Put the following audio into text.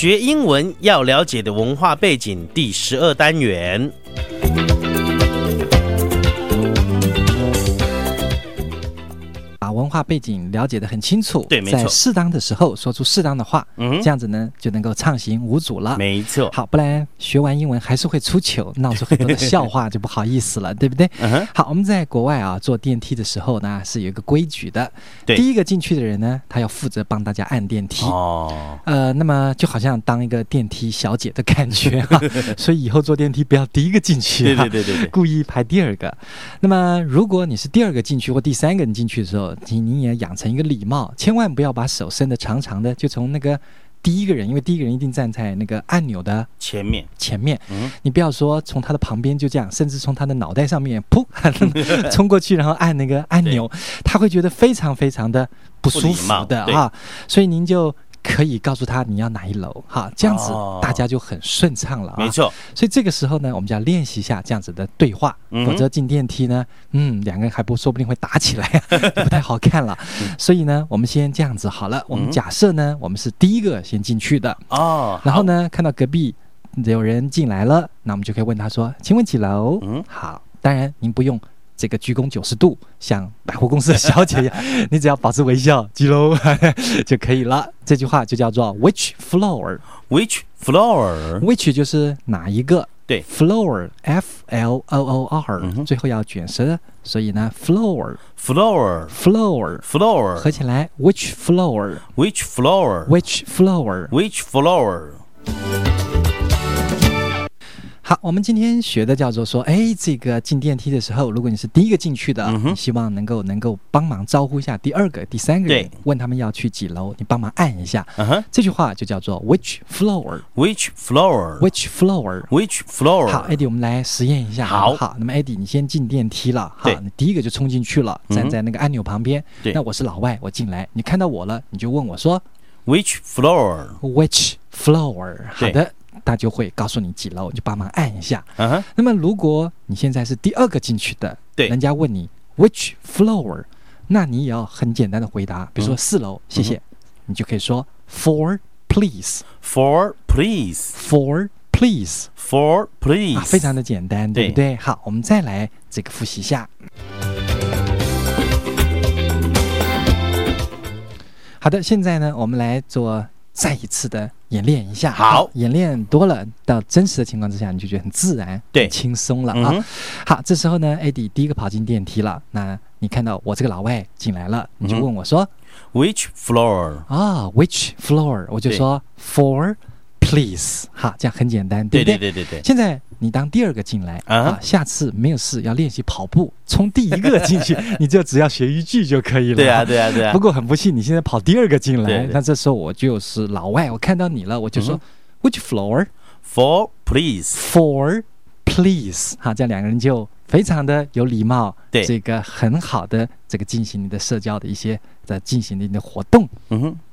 学英文要了解的文化背景第12单元。 把文化背景了解得很清楚， 对，没错， 在适当的时候说出适当的话，这样子呢就能够畅行无阻了。 没错， 好，不然学完英文还是会出糗，闹出很多的笑话，就不好意思了，对不对？好，我们在国外啊坐电梯的时候呢是有一个规矩的， 对， 第一个进去的人呢，他要负责帮大家按电梯。那么就好像当一个电梯小姐的感觉哈，所以以后坐电梯不要第一个进去，对，故意排第二个。那么如果你是第二个进去或第三个人进去的时候，你也养成一个礼貌，千万不要把手伸得长长的，就从那个第一个人，因为第一个人一定站在那个按钮的前面，你不要说从他的旁边就这样，甚至从他的脑袋上面噗冲过去，然后按那个按钮，他会觉得非常非常的不舒服的啊，所以您就可以告诉他你要哪一楼，哈，这样子大家就很顺畅了啊。 没错， 所以这个时候呢，我们就要练习一下这样子的对话，否则进电梯呢，两个人还说不定会打起来，不太好看了。所以呢，我们先这样子好了。我们假设呢，我们是第一个先进去的然后呢，看到隔壁有人进来了，那我们就可以问他说：“请问几楼？”好，当然您不用这个鞠躬90度，像百货公司的小姐一样，你只要保持微笑，几楼就可以了。这句话就叫做 Which floor？Which floor？Which 就是哪一个？ 对 ，floor Floor，最后要卷舌，所以呢 floor 合起来 Which floor？Which floor？好，我们今天学的叫做说，这个进电梯的时候，如果你是第一个进去的，你希望能够帮忙招呼一下第二个、第三个人，问他们要去几楼，你帮忙按一下。这句话就叫做 Which floor？Which floor？好 ，Eddie， 我们来实验一下。好，那么 Eddie， 你先进电梯了，好，你第一个就冲进去了，站在那个按钮旁边。那我是老外，我进来，你看到我了，你就问我说 Which floor？ 好的。他就会告诉你几楼，你就帮忙按一下。那么如果你现在是第二个进去的，人家问你 Which floor， 那你也要很简单的回答，比如说4楼，谢谢，你就可以说 4 please。4 please。非常的简单，对不对？好，我们再来这个复习一下。好的，现在呢，我们来做再一次的演练一下。好，演练多了，到真实的情况之下，你就觉得很自然，很轻松了啊。好，这时候呢 ，Eddie 第一个跑进电梯了，那你看到我这个老外进来了，你就问我说 Which floor？Which floor？ 我就说 4 please。好，这样很简单，对不对？对。现在你当第二个进来下次没有事要练习跑步，从第一个进去，你就只要学一句就可以了。对啊。不过很不幸，你现在跑第二个进来，那这时候我就是老外，我看到你了，我就说 Which floor？4 please。好，这样两个人就非常的有礼貌，这个很好的这个进行你的社交的一些进行你的活动。